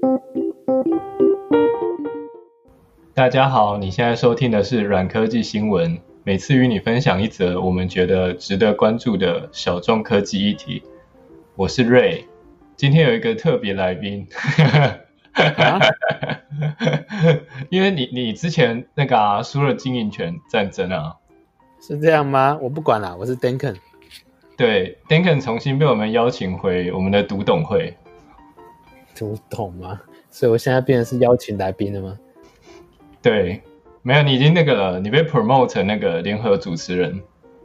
大家好，你現在收聽的是軟科技新聞，每次與你分享一則我們覺得值得關注的小眾科技議題。我是 Ray， 今天有一個特別來賓，因為你之前那個輸了經營權戰爭啊， 是這樣嗎？我不管啦，我是 Duncan。 對 ，Duncan 重新被我們邀請回我們的讀懂會。 讀懂嗎？所以我現在變成是邀請來賓了嗎？ 對，沒有，你已經那個了，你被 promote 成那個聯合主持人。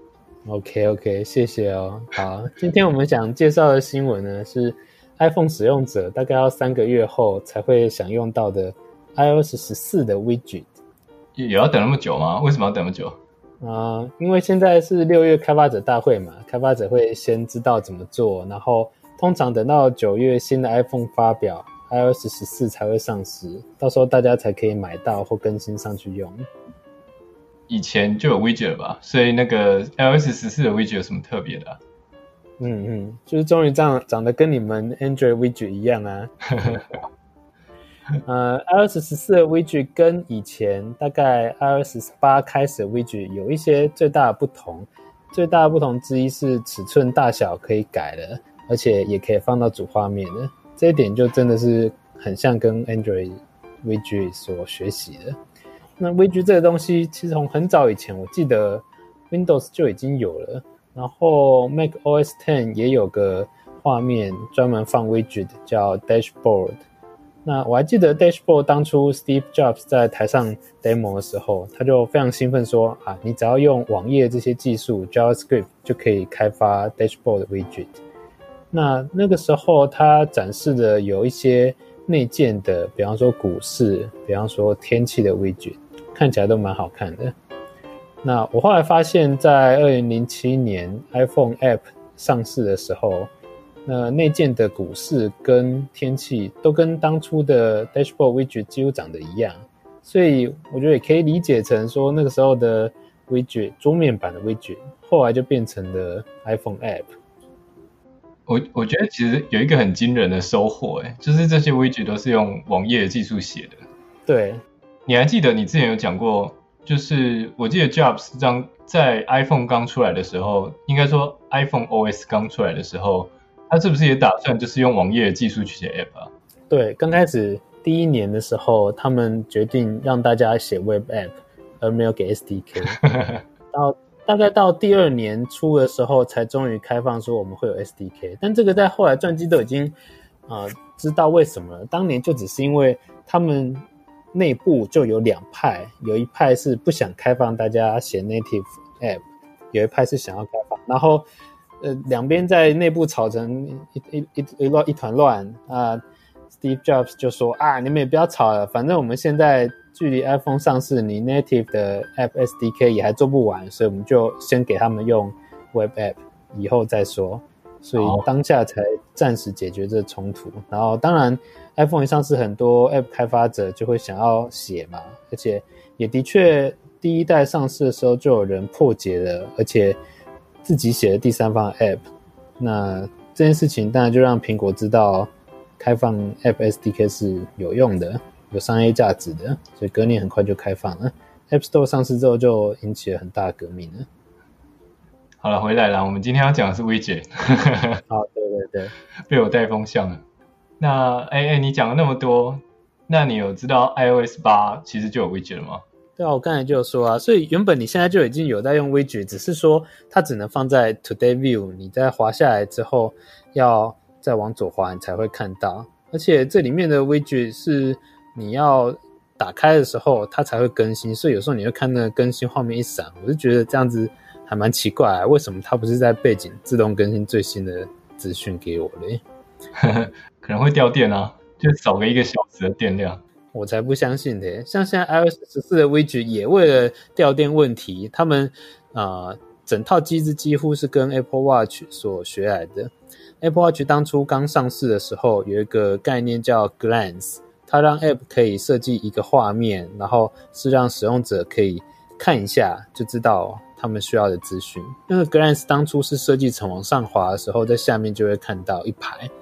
OK， 謝謝哦。好，今天我們想介紹的新聞呢，是 iPhone 使用者大概要3個月後才會享用到的 iOS 14的 widget。 也要等那麼久嗎？為什麼要等那麼久？ 因為現在是6月開發者大會嘛，開發者會先知道怎麼做，然後通常等到9月新的 iPhone 發表， iOS 14才會上市，到時候大家才可以買到或更新上去用。 以前就有 widget 了吧，所以那個 iOS 14的 widget 有什麼特別的啊？ 就是終於長得跟你們 Android widget 一樣啊。iOS 14的 widget 跟以前大概 iOS 18開始的 widget 有一些最大的不同，最大的不同之一是尺寸大小可以改了，而且也可以放到主畫面的，這一點就真的是很像跟 Android widget 所學習的。那 widget 這個東西其實從很早以前我記得 Windows 就已經有了，然後 macOS X 也有個畫面專門放 widget 叫 Dashboard。那我還記得 Dashboard 當初 Steve Jobs 在台上 demo 的時候，他就非常興奮說你只要用網頁這些技術 JavaScript 就可以開發 Dashboard 的 widget。那個時候他展示的有一些內建的，比方說股市，比方說天氣的 widget， 看起來都蠻好看的。那我後來發現在2007年 iPhone App 上市的時候，那內建的股市跟天氣都跟當初的 Dashboard widget 幾乎長得一樣，所以我覺得也可以理解成說那個時候的 widget 桌面版的 widget 後來就變成了 iPhone App。 我覺得其實有一個很驚人的收穫，就是這些 widget 都是用網頁的技術寫的。 對， 你還記得你之前有講過，就是我記得 Jobs 在 iPhone 剛出來的時候，應該說 iPhone OS 剛出來的時候，他是不是也打算就是用網頁的技術去寫 App 啊？对， 剛開始第一年的時候，他們決定讓大家寫 Web App， 而沒有給 SDK。大概到第2年初的時候，才終於開放說我們會有 SDK。但這個在後來傳記都已經知道為什麼了。當年就只是因為他們內部就有2派，有一派是不想開放大家寫 native app， 有一派是想要開放，然後兩邊在內部吵成一團亂啊。Steve Jobs 就說你們也不要吵了，反正我們現在距離 iPhone 上市，你 native 的 App SDK 也還做不完，所以我們就先給他們用 Web App， 以後再說。所以當下才暫時解決這個衝突。然後當然 iPhone 一上市，很多 App 開發者就會想要寫嘛，而且也的確第一代上市的時候就有人破解了，而且自己寫了第三方的 App。那這件事情當然就讓蘋果知道開放 App SDK 是有用的，有商業價值的，所以隔年很快就開放了。App Store 上市之後就引起了很大的革命了。 好了，回來了，我們今天要講的是 widget。 好，对， 被我帶風向了。那你講了那麼多，那你有知道 iOS 8其實就有 widget 了嗎？ 對啊，我剛才就有說啊，所以原本你現在就已經有在用 widget， 只是說它只能放在 Today View， 你在滑下來之後要再往左滑你才會看到，而且這裡面的 widget 是你要打開的時候它才會更新，所以有時候你會看那個更新畫面一閃，我就覺得這樣子還蠻奇怪為什麼它不是在背景自動更新最新的資訊給我嘞？ 可能會掉電啊，就少個1個小時的電量。 我才不相信的，像現在 iOS 14的 widget 也為了掉電問題，他們整套機制幾乎是跟 Apple Watch 所學來的。Apple Watch 當初剛上市的時候有一個概念叫 Glance， 它讓 App 可以設計一個畫面，然後是讓使用者可以看一下就知道他們需要的資訊。那個 Glance 當初是設計成往上滑的時候，在下面就會看到一排，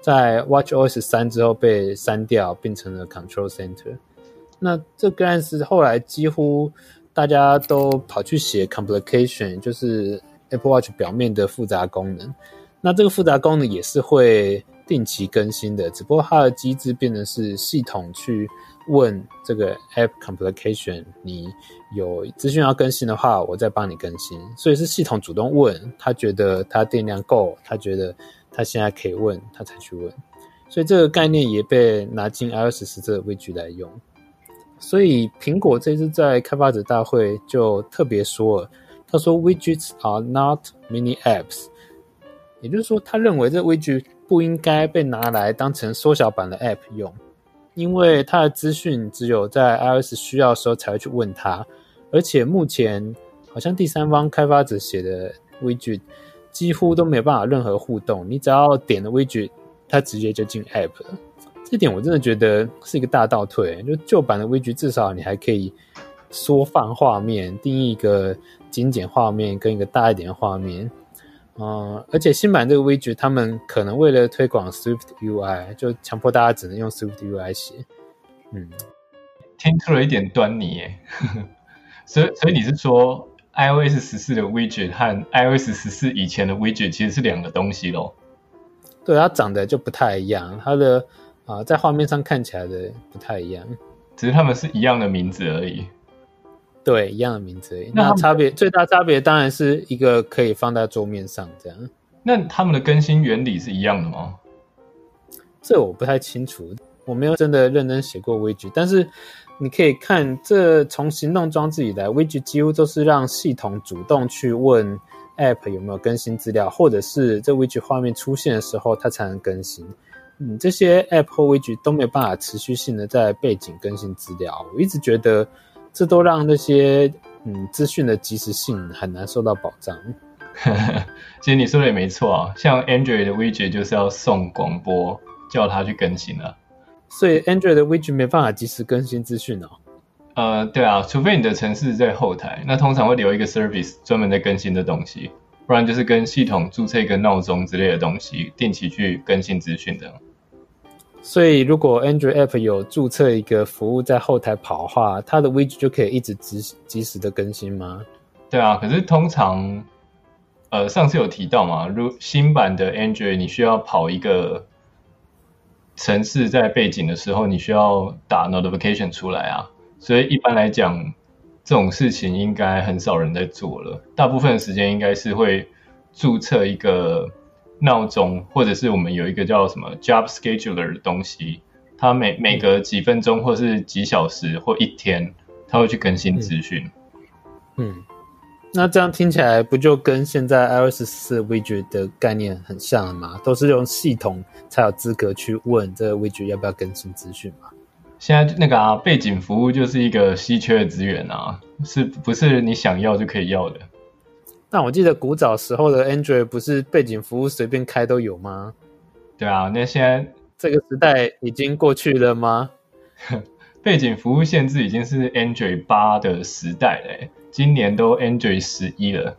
在 watchOS 3之後被刪掉，變成了 Control Center。那這個案子後來幾乎大家都跑去寫 complication， 就是 Apple Watch 表面的複雜功能。那這個複雜功能也是會定期更新的，只不過它的機制變成是系統去問這個 App complication， 你有資訊要更新的話，我再幫你更新。所以是系統主動問，他覺得他電量夠，他覺得他現在可以問，他才去問。所以這個概念也被拿進 iOS 14這個 widget 來用。所以蘋果這次在開發者大會就特別說了，他說 widgets are not mini apps， 也就是說他認為這 widget 不應該被拿來當成縮小版的 app 用，因為它的資訊只有在 iOS 需要的時候才會去問它，而且目前好像第三方開发者寫的 widget 幾乎都沒有辦法任何互動，你只要點了 widget 它直接就進 app 了。這點我真的覺得是一個大倒退，就舊版的 widget 至少你還可以縮放畫面，定義一個精簡畫面跟一個大一點的畫面。而且新版這個 widget 他們可能為了推廣 Swift UI 就強迫大家只能用 Swift UI 寫。 聽出了一點端倪耶。所以你是說 iOS 14的 widget 和 iOS 14以前的 widget 其實是兩個東西咯？ 對，它長得就不太一樣，它的在畫面上看起來的不太一樣， 只是他们是一樣的名字而已。 對，一樣的名字而已。那最大差別當然是一個可以放在桌面上這樣。 那他們的更新原理是一樣的嗎？ 這我不太清楚，我沒有真的認真寫過 widget， 但是你可以看，這從行動裝置以來 widget 幾乎都是讓系統主動去問 App 有沒有更新資料，或者是這 widget 畫面出現的時候它才能更新。這些 App 或 widget 都沒有辦法持續性的在背景更新資料，我一直覺得這都讓那些資訊的即時性很難受到保障。 其實你說的也沒錯啊，像 Android 的 widget 就是要送廣播叫它去更新啊， 所以 Android 的 widget 沒辦法即時更新資訊哦。 對啊，除非你的程式在後台，那通常會留一個 service 專門在更新的東西，不然就是跟系統註冊一個鬧鐘之類的東西，定期去更新資訊的。 所以如果 Android App 有註冊一個服務在後台跑的話，它的 widget 就可以一直即時的更新嗎？ 對啊，可是通常上次有提到嘛，如新版的 Android 你需要跑一個程式在背景的時候，你需要打 notification 出來啊，所以一般來講這種事情應該很少人在做了，大部分的時間應該是會註冊一個鬧鐘，或者是我們有一個叫什麼 Job Scheduler 的東西，它每隔幾分鐘或是幾小時或一天，它會去更新資訊。 那這樣聽起來不就跟現在 iOS 14 widget 的概念很像了嗎？都是用系統才有資格去問這個 widget 要不要更新資訊嘛？ 現在那個背景服務就是一個稀缺的資源啊，是不是你想要就可以要的？ 但我記得古早時候的 Android 不是背景服務隨便開都有嗎？ 對啊，那現在這個時代已經過去了嗎？ 背景服務限制已經是 Android 8的時代了，今年都 Android 11了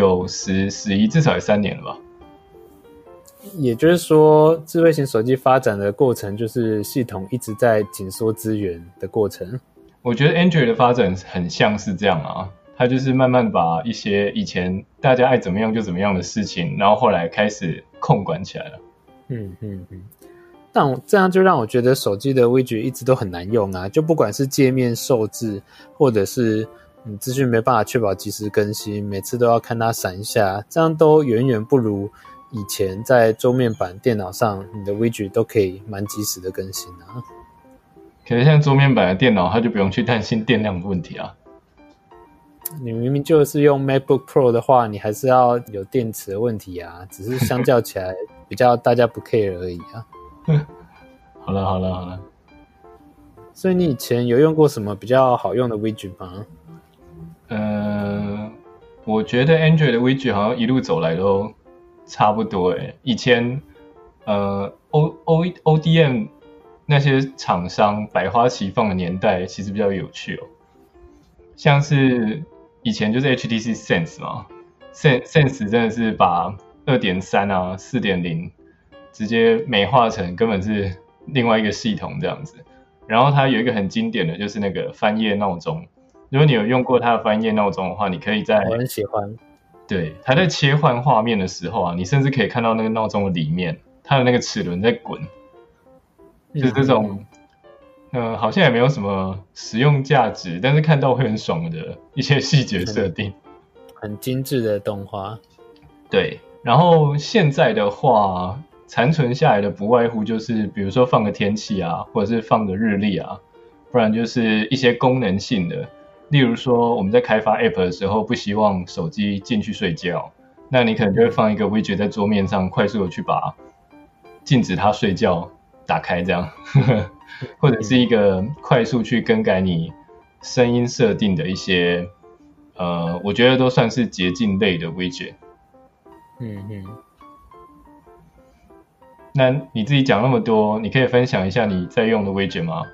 ，9、10、11至少也3年了吧？ 也就是說，智慧型手機發展的過程就是系統一直在緊縮資源的過程。 我覺得 Android 的發展很像是這樣啊，它就是慢慢把一些以前大家愛怎麼樣就怎麼樣的事情，然後後來開始控管起來了。 但這樣就讓我覺得手機的 widget 一直都很難用啊，就不管是界面受制，或者是資訊沒辦法確保即時更新，每次都要看它閃一下，這樣都遠遠不如以前在桌面版電腦上你的 widget 都可以蠻即時的更新啊。 可是像桌面版的電腦，它就不用去擔心電量的問題啊。 你明明就是用 MacBook Pro 的話，你還是要有電池的問題啊，只是相較起来比較大家不 care 而已啊。 好了。 所以你以前有用過什麼比較好用的 widget 嗎？ 我覺得 Android 的 widget 好像一路走來都差不多誒。以前ODM 那些廠商百花齊放的年代其實比較有趣哦，像是以前就是 HTC Sense 嘛，Sense 真的是把 2.3 啊 4.0 直接美化成根本是另外一個系統這樣子。然後它有一個很經典的就是那個翻頁鬧鐘，如果你有用過它的翻頁鬧鐘的話，你可以在我很喜歡。 對，它在切換畫面的時候啊，你甚至可以看到那個鬧鐘的裡面，它的那個齒輪在滾，就是這種。好像也沒有什麼實用價值，但是看到會很爽的一些細節設定， 很精緻的動畫。 對，然後現在的話，殘存下來的不外乎就是，比如說放個天氣啊，或者是放個日曆啊，不然就是一些功能性的，例如說我們在開發 App 的時候，不希望手機進去睡覺，那你可能就會放一個 widget 在桌面上，快速的去把禁止它睡覺打開，這樣。或者是一個快速去更改你聲音設定的一些，我覺得都算是捷徑類的 widget。那你自己講那麼多，你可以分享一下你在用的 widget 嗎？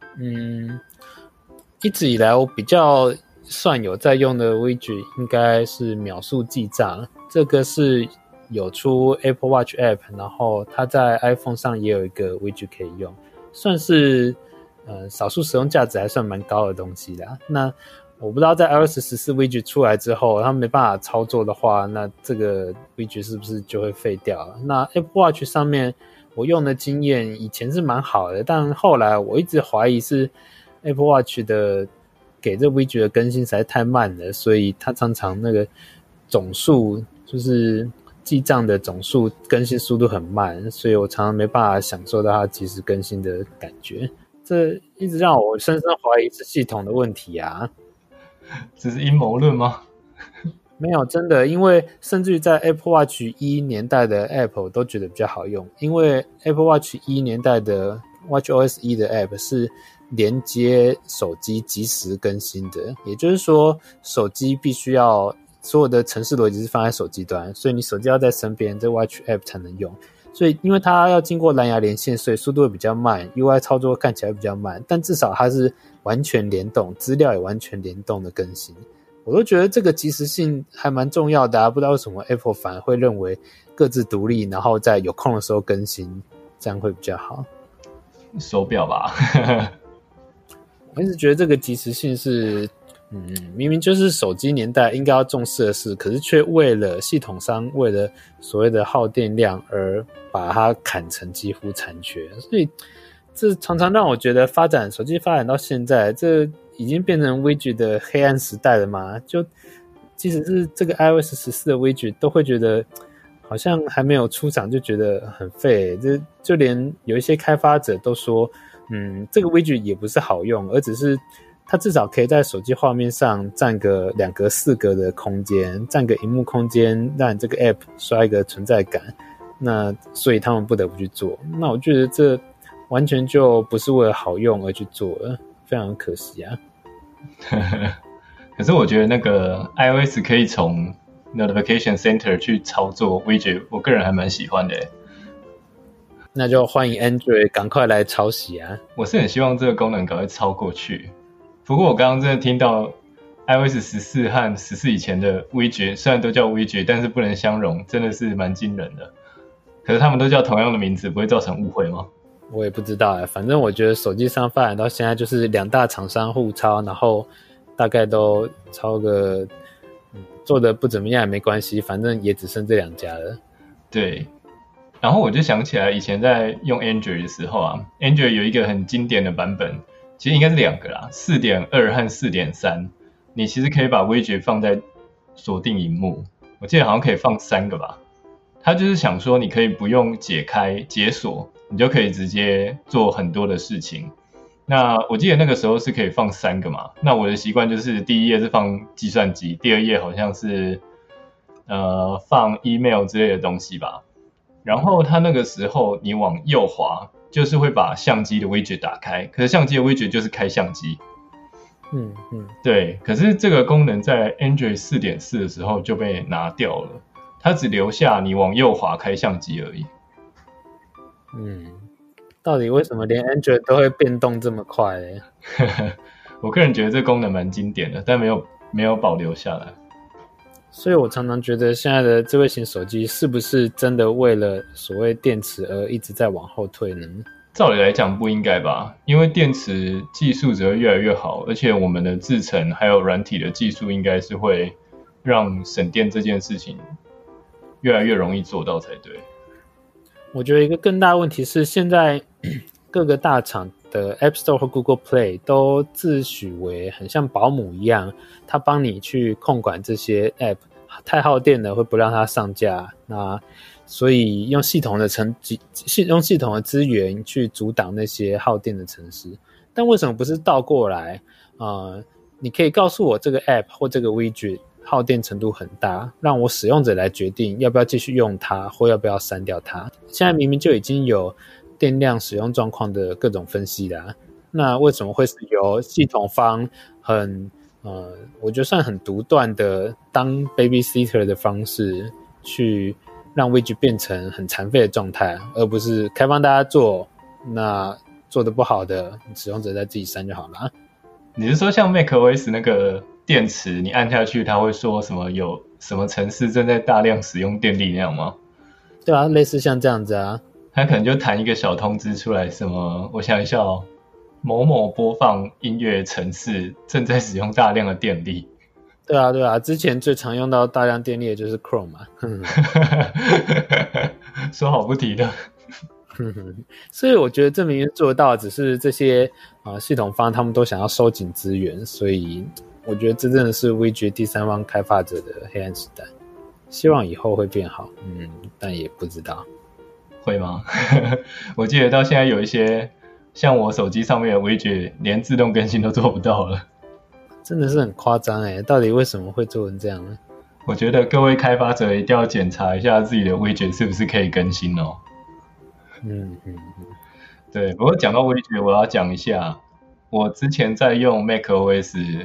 一直以來我比較算有在用的 widget 應該是秒速記賬，這個是有出 Apple Watch App， 然後它在 iPhone 上也有一個 widget 可以用。算是少數使用價值還算蠻高的東西啦。那我不知道在 iOS 14 widget 出來之後，它沒辦法操作的話，那這個 widget 是不是就會廢掉了？那 Apple Watch 上面我用的經驗以前是蠻好的，但後來我一直懷疑是 Apple Watch 的給這 widget 的更新實在太慢了，所以它常常那個總數就是記賬的總數更新速度很慢，所以我常常沒辦法享受到它即時更新的感覺。這一直讓我深深懷疑是系統的問題啊！ 這是陰謀論嗎？ 沒有，真的，因為甚至於在 Apple Watch 1年代的 App 我都覺得比較好用，因為 Apple Watch 1年代的 WatchOS 1的 App 是連接手機即時更新的，也就是說手機必須要所有的程式邏輯是放在手機端，所以你手機要在身邊，這 Watch App 才能用。所以因為它要經過藍牙連線，所以速度會比較慢， UI 操作看起來會比較慢，但至少它是完全聯動，資料也完全聯動的更新。我都覺得這個即時性還蠻重要的啊，不知道為什麼 Apple 反而會認為各自獨立，然後在有空的時候更新，這樣會比較好。 手錶吧。 我一直覺得這個即時性是明明就是手機年代應該要重視的事，可是卻為了系統商為了所謂的耗電量而把它砍成幾乎殘缺，所以這常常讓我覺得手機發展到現在，這已經變成 widget 的黑暗時代了嘛？就即使是這個 iOS 14的 widget 都會覺得好像還沒有出廠就覺得很廢，就連有一些開發者都說這個 widget 也不是好用，而只是它至少可以在手機畫面上占個2格4格的空間，占個螢幕空間，讓你這個 app 刷一個存在感。那所以他們不得不去做。那我覺得這完全就不是為了好用而去做了，非常可惜啊。 可是我覺得那個 iOS 可以從 Notification Center 去操作 widget， 我個人還蠻喜歡的。 那就歡迎 Android 趕快來抄襲啊！ 我是很希望這個功能趕快超過去。不過我剛剛真的聽到 iOS 14和14以前的 widget 雖然都叫 widget， 但是不能相容，真的是蠻驚人的。可是他們都叫同樣的名字，不會造成誤會嗎？ 我也不知道反正我覺得手機上發展到現在就是2大廠商互抄，然後大概都抄個做的不怎麼樣也沒關係，反正也只剩這2家了。 對，然後我就想起來以前在用 Android 的時候啊， Android 有一個很經典的版本，其實應該是2個啦， 4.2 和 4.3， 你其實可以把 widget 放在鎖定螢幕，我記得好像可以放3個吧。他就是想說你可以不用解鎖，你就可以直接做很多的事情。那我記得那個時候是可以放3个嘛，那我的習慣就是第一頁是放計算機，第2頁好像是放 email 之類的東西吧。然後他那個時候你往右滑就是會把相機的 widget 打開，可是相機的 widget 就是開相機。對，可是這個功能在 Android 4.4 的時候就被拿掉了，它只留下你往右滑開相機而已。 到底為什麼連 Android 都會變動這麼快呢？ 我個人覺得這功能蠻經典的，但沒有保留下來。 所以我常常覺得現在的智慧型手機是不是真的為了所謂電池而一直在往後退呢？ 照理來講不應該吧，因為電池技術只會越來越好，而且我們的製程還有軟體的技術應該是會讓省電這件事情越來越容易做到才對。 我覺得一個更大的問題是，現在各個大廠的 App Store 和 Google Play 都自詡為很像保姆一樣，他幫你去控管這些 App， 太耗電了會不讓它上架，那所以用系統的資源去阻擋那些耗電的程式。但為什麼不是倒過來？你可以告訴我這個 App 或這個 Widget 耗電程度很大，讓我使用者來決定要不要繼續用它，或要不要刪掉它。現在明明就已經有電量使用狀況的各種分析啦，那為什麼會是由系統方我覺得算很獨斷的當 babysitter 的方式去讓 widget 變成很殘廢的狀態，而不是開放大家做，那做得不好的使用者再自己刪就好了。 你是說像 macOS 那個電池你按下去它會說什麼有什麼程式正在大量使用電力那樣嗎？ 對啊，類似像這樣子啊， 它可能就彈一個小通知出來，什麼我想一下哦，某某播放音樂程式正在使用大量的電力。 对啊，之前最常用到大量電力的就是 Chrome 嘛。 說好不提的。 所以我覺得這明明做得到，只是這些系統方他們都想要收緊資源，所以我覺得這真的是 Widget 第三方開發者的黑暗時代。希望以後會變好，但也不知道會嗎？我記得到現在有一些像我手機上面的 Widget 連自動更新都做不到了， 真的是很誇張耶，到底為什麼會做成這樣呢？ 我覺得各位開發者一定要檢查一下自己的 Widget 是不是可以更新哦。對，不過講到 Widget 我要講一下，我之前在用 macOS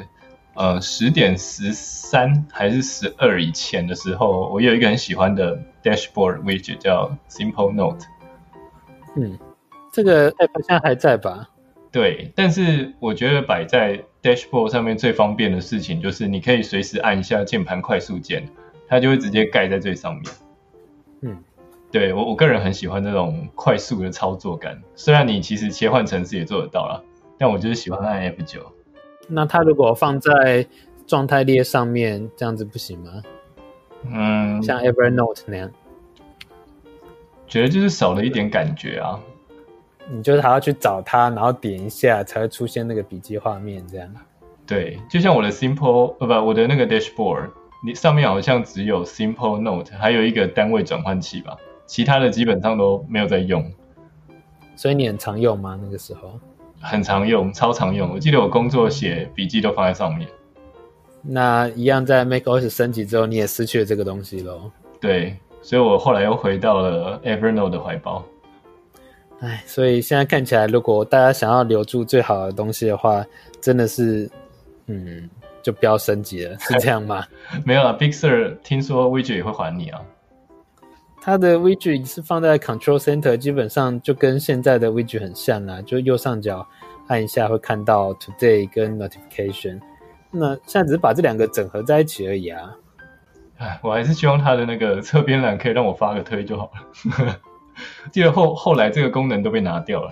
10.13 還是12以前的時候，我有一個很喜歡的 Dashboard Widget 叫 Simple Note。 這個 App 現在還在吧？ 對，但是我覺得擺在 Dashboard 上面最方便的事情就是你可以隨時按一下鍵盤快速鍵，它就會直接蓋在最上面。對，我個人很喜歡這種快速的操作感，雖然你其實切換程式也做得到啦，但我就是喜歡按 F9。 那它如果放在狀態列上面，這樣子不行嗎？像 Evernote 那樣， 覺得就是少了一點感覺啊。 你就是還要去找它，然後點一下才會出現那個筆記畫面這樣。 對，就像我的 我的那個 Dashboard， 你上面好像只有 Simple Note， 還有一個單位轉換器吧，其他的基本上都沒有在用。 所以你很常用嗎？那個時候？ 很常用，超常用。我記得我工作寫筆記都放在上面。那一樣在 macOS 升級之後，你也失去了這個東西咯。 對，所以我後來又回到了 Evernote 的懷抱。 所以現在看起來，如果大家想要留住最好的東西的話，真的是，就不要升級了，是這樣嗎？ 沒有啦 Big Sur 聽說 Widget 也會還你啊。 它的 Widget 是放在 Control Center， 基本上就跟現在的 Widget 很像啦，就右上角按一下會看到 Today 跟 Notification。那現在只是把這兩個整合在一起而已啊。 我還是希望它的那個側邊欄可以讓我發個推就好了。記得後來這個功能都被拿掉了。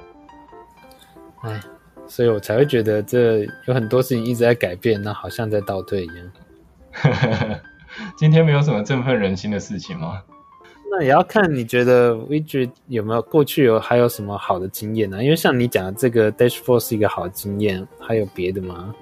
所以我才會覺得這有很多事情一直在改變，那好像在倒退一樣。 今天沒有什麼振奮人心的事情嗎？ 那也要看你覺得 Widget 有沒有過去還有什麼好的經驗呢？因為像你講的這個 Dashboard 是一個好的經驗，還有別的嗎？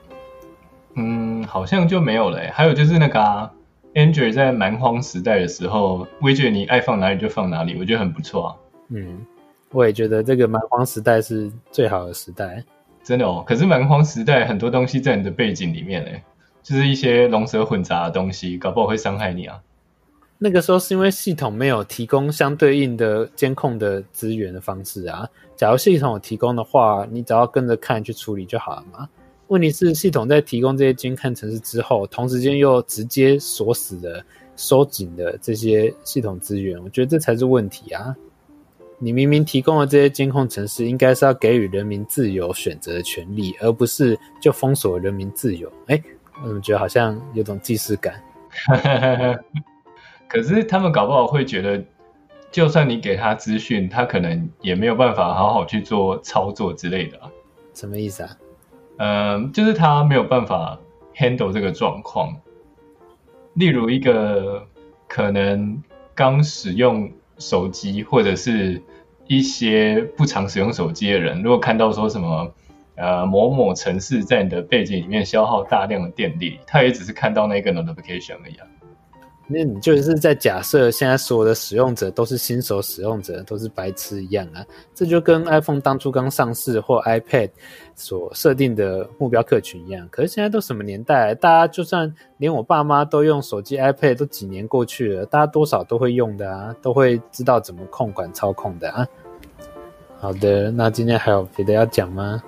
好像就沒有了。還有就是那個Android 在蠻荒時代的時候 Widget 你愛放哪裡就放哪裡，我覺得很不錯啊。 我也覺得這個蠻荒時代是最好的時代。 真的哦，可是蠻荒時代很多東西在你的背景裡面就是一些龍蛇混雜的東西，搞不好會傷害你啊。 那個時候是因為系統沒有提供相對應的監控的資源的方式啊。假如系統有提供的話，你只要跟着看去處理就好了嘛。問題是系統在提供這些監看程式之後，同時間又直接鎖死的收緊的這些系統資源，我覺得這才是問題啊。你明明提供了這些監控程式，應該是要給予人民自由選擇的權利，而不是就封鎖人民自由。我怎麼覺得好像有種既視感？ 可是他們搞不好會覺得，就算你給他資訊，他可能也沒有辦法好好去做操作之類的啊。 什麼意思啊？ 就是他沒有辦法 handle 這個狀況。例如一個可能剛使用手機或者是一些不常使用手機的人，如果看到說什麼某某程式在你的背景裡面消耗大量的電力，他也只是看到那個 notification 而已啊。 那你就是在假設現在所有的使用者都是新手使用者，都是白痴一樣啊。這就跟 iPhone 當初剛上市或 iPad 所設定的目標客群一樣。可是現在都什麼年代，大家就算連我爸媽都用手機 iPad 都幾年過去了，大家多少都會用的啊，都會知道怎麼控管操控的啊。好的，那今天還有別的要講嗎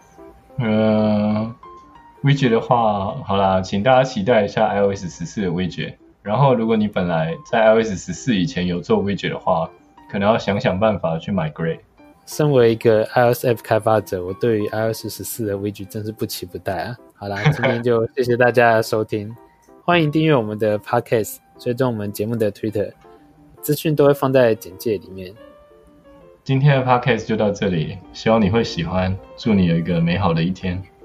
？widget 的話，好啦，請大家期待一下 iOS 14的 widget。然後，如果你本來在 iOS 14以前有做 widget 的話，可能要想辦法去 migrate。 身為一個 iOS App 開發者，我對於 iOS 14的 widget 真是不期不待啊！好啦，今天就謝謝大家的收聽，歡迎訂閱我們的 Podcast， 追蹤我們節目的 Twitter， 資訊都會放在簡介裡面。 今天的 Podcast 就到這裡，希望你會喜歡，祝你有一個美好的一天。